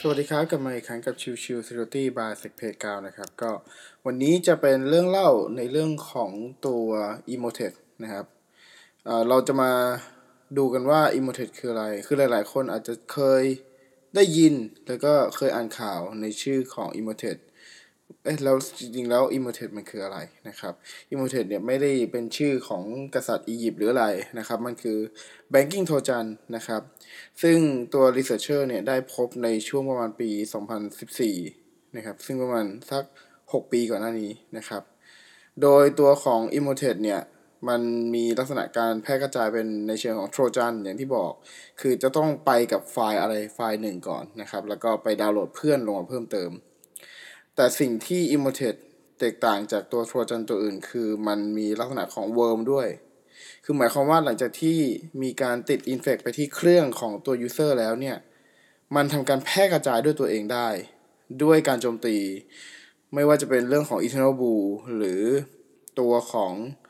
สวัสดีครับกลับมาอีกครั้งกับชิว Security by Sec Playground นะครับก็วันนี้จะเป็นเรื่องเล่าในเรื่องของตัว Emotet นะครับเราจะมาดูกันว่า Emotet คืออะไรคือหลายๆคนอาจจะเคยได้ยินแล้วก็เคยอ่านข่าวในชื่อของ Emotet แล้วจริงๆแล้ว Emotet มันคืออะไรนะครับ Emotet เนี่ยไม่ได้เป็นชื่อของกษัตริย์อียิปต์หรืออะไรนะครับมันคือ Banking Trojan นะครับซึ่งตัว Researcher เนี่ยได้พบในช่วงประมาณปี 2014 นะครับซึ่งประมาณสัก 6 ปีก่อนหน้านี้นะครับโดยตัวของ Emotet เนี่ยมันมีลักษณะการแพร่กระจายเป็นในเชิงของ Trojan อย่างที่บอกคือจะต้องไปกับไฟล์อะไรไฟล์หนึ่งก่อนนะครับแล้วก็ไปดาวน์โหลดเพื่อนลงมาเพิ่มเติมแต่สิ่งที่ Emotet แตกต่างจากตัว Trojan ตัวอื่นคือมันมีลักษณะของ Worm ด้วยคือหมายความว่าหลังจากที่มีการติด infect ไปที่เครื่องของตัว user แล้วเนี่ยมันทำการแพร่กระจายด้วยตัวเองได้ด้วยการโจมตีไม่ว่าจะเป็นเรื่องของ Eternal Blue หรือตัวของ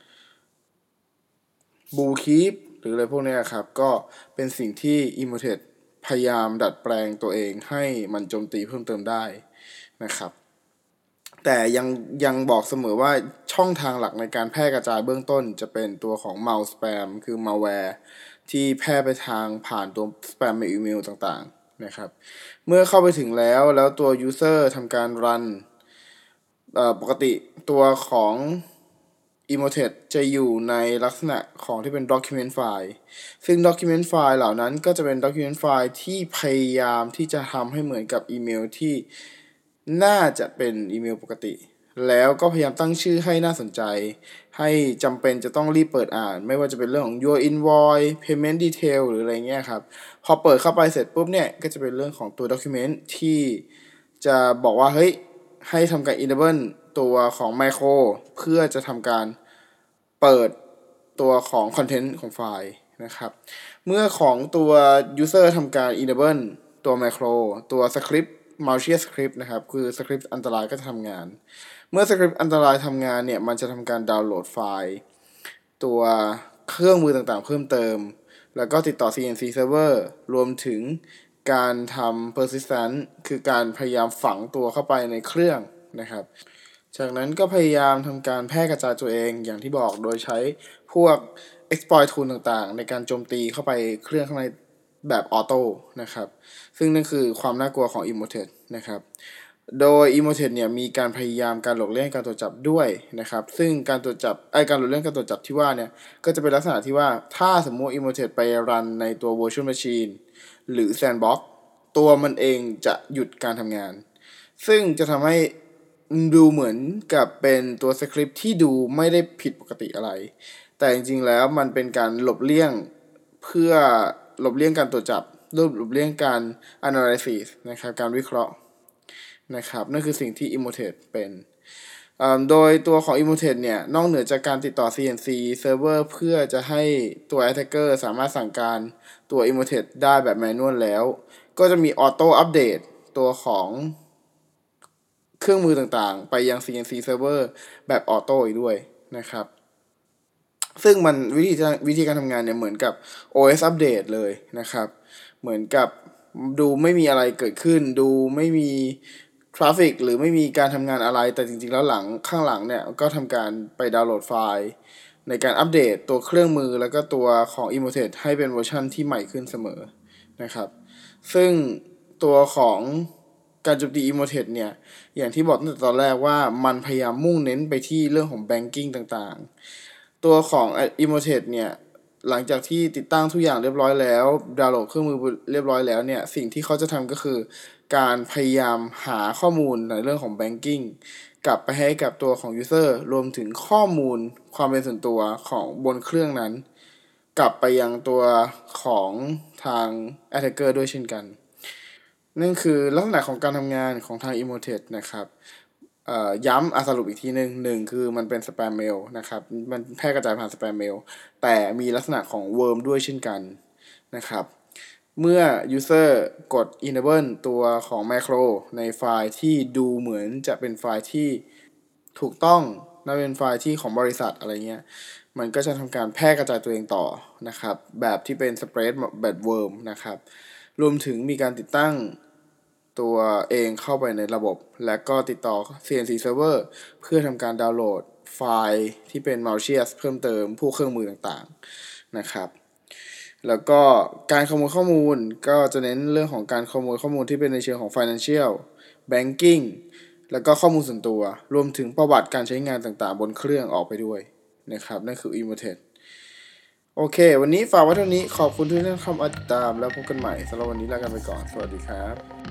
Blue Keep หรืออะไรพวกนี้ครับก็เป็นสิ่งที่ Emotet พยายามดัดแปลงตัวเองให้มันโจมตีเพิ่มเติมได้นะครับแต่ยังบอกเสมอว่าช่องทางหลักในการแพร่กระจายเบื้องต้นจะเป็นตัวของ Mouse Spam คือ malware ที่แพร่ไปทางผ่านตัว Spam อีเมลต่างๆนะครับเมื่อเข้าไปถึงแล้วตัว User ทำการรันปกติตัวของ Emotet จะอยู่ในลักษณะของที่เป็น document file ซึ่ง document file เหล่านั้นก็จะเป็น document file ที่พยายามที่จะทำให้เหมือนกับอีเมลที่น่าจะเป็นอีเมลปกติแล้วก็พยายามตั้งชื่อให้น่าสนใจให้จำเป็นจะต้องรีบเปิดอ่านไม่ว่าจะเป็นเรื่องของ your invoice payment detail หรืออะไรเงี้ยครับพอเปิดเข้าไปเสร็จปุ๊บเนี่ยก็จะเป็นเรื่องของตัว document ที่จะบอกว่าเฮ้ยให้ทำการ enable ตัวของ macro เพื่อจะทำการเปิดตัวของ content ของไฟล์นะครับเมื่อของตัว user ทำการ enable ตัว macro ตัว script malicious script นะครับคือ script อันตรายก็จะทำงานเมื่อ script อันตรายทำงานเนี่ยมันจะทำการดาวน์โหลดไฟล์ตัวเครื่องมือต่างๆเพิ่มเติมแล้วก็ติดต่อ CNC server รวมถึงการทำ persistent คือการพยายามฝังตัวเข้าไปในเครื่องนะครับจากนั้นก็พยายามทำการแพร่กระจายตัวเองอย่างที่บอกโดยใช้พวก exploit tool ต่างๆในการโจมตีเข้าไปเครื่องข้างในแบบออโต้นะครับซึ่งนั่นคือความน่ากลัวของ Emotet นะครับโดย Emotet เนี่ยมีการพยายามการหลบเลี่ยงการตรวจจับด้วยนะครับซึ่งการตรวจจับการหลบเลี่ยงการตรวจจับที่ว่าเนี่ยก็จะเป็นลักษณะที่ว่าถ้าสมมุติ Emotet ไปรันในตัว virtual machine หรือ sandbox ตัวมันเองจะหยุดการทำงานซึ่งจะทำให้ดูเหมือนกับเป็นตัวสคริปต์ที่ดูไม่ได้ผิดปกติอะไรแต่จริงๆแล้วมันเป็นการหลบเลี่ยงเพื่อหลบเลี่ยงการตรวจจับหลบเลี่ยงการ analysis นะครับการวิเคราะห์นะครับนั่นคือสิ่งที่ Emotet เป็นโดยตัวของ Emotet เนี่ยนอกเหนือจากการติดต่อ CNC server เพื่อจะให้ตัว attacker สามารถสั่งการตัว Emotet ได้แบบ manual แล้วก็จะมี auto update ตัวของเครื่องมือต่างๆไปยัง CNC server แบบออโต้อีกด้วยนะครับซึ่งมันวิธีการทำงานเนี่ยเหมือนกับ OS อัปเดตเลยนะครับเหมือนกับดูไม่มีอะไรเกิดขึ้นดูไม่มีทราฟฟิกหรือไม่มีการทำงานอะไรแต่จริงๆแล้วข้างหลังเนี่ยก็ทำการไปดาวน์โหลดไฟล์ในการอัปเดตตัวเครื่องมือแล้วก็ตัวของ Emotet ให้เป็นเวอร์ชันที่ใหม่ขึ้นเสมอนะครับซึ่งตัวของการโจมตี Emotet เนี่ยอย่างที่บอกตั้งแต่ตอนแรกว่ามันพยายามมุ่งเน้นไปที่เรื่องของ banking ต่างๆตัวของ Emotet เนี่ยหลังจากที่ติดตั้งทุกอย่างเรียบร้อยแล้วดาวน์โหลดเครื่องมือเรียบร้อยแล้วเนี่ยสิ่งที่เขาจะทำก็คือการพยายามหาข้อมูลในเรื่องของ banking กลับไปให้กับตัวของ user รวมถึงข้อมูลความเป็นส่วนตัวของบนเครื่องนั้นกลับไปยังตัวของทาง attacker ด้วยเช่นกันนั่นคือลักษณะของการทำงานของทาง Emotet นะครับย้ำสรุปอีกทีหนึ่งคือมันเป็นสแปมเมลนะครับมันแพร่กระจายผ่านสแปมเมลแต่มีลักษณะของ worm ด้วยเช่นกันนะครับเมื่อ user กด enable ตัวของ macro ในไฟล์ที่ดูเหมือนจะเป็นไฟล์ที่ถูกต้องและเป็นไฟล์ที่ของบริษัทอะไรเงี้ยมันก็จะทำการแพร่กระจายตัวเองต่อนะครับแบบที่เป็น spread แบบ worm นะครับรวมถึงมีการติดตั้งตัวเองเข้าไปในระบบ และก็ติดต่อ CNC Server เพื่อทำการดาวน์โหลดไฟล์ที่เป็น malicious เพิ่มเติมผู้เครื่องมือต่างๆนะครับแล้วก็การขโมยข้อมูลก็จะเน้นเรื่องของการขโมยข้อมูลที่เป็นในเชิงของ financial banking แล้วก็ข้อมูลส่วนตัวรวมถึงประวัติการใช้งานต่างๆบนเครื่องออกไปด้วยนะครับนั่นคือ Emotet โอเควันนี้ฝากไว้เท่านี้ขอบคุณที่ท่านเข้ามาติดตามแล้วพบกันใหม่สำหรับวันนี้ลากันไปก่อนสวัสดีครับ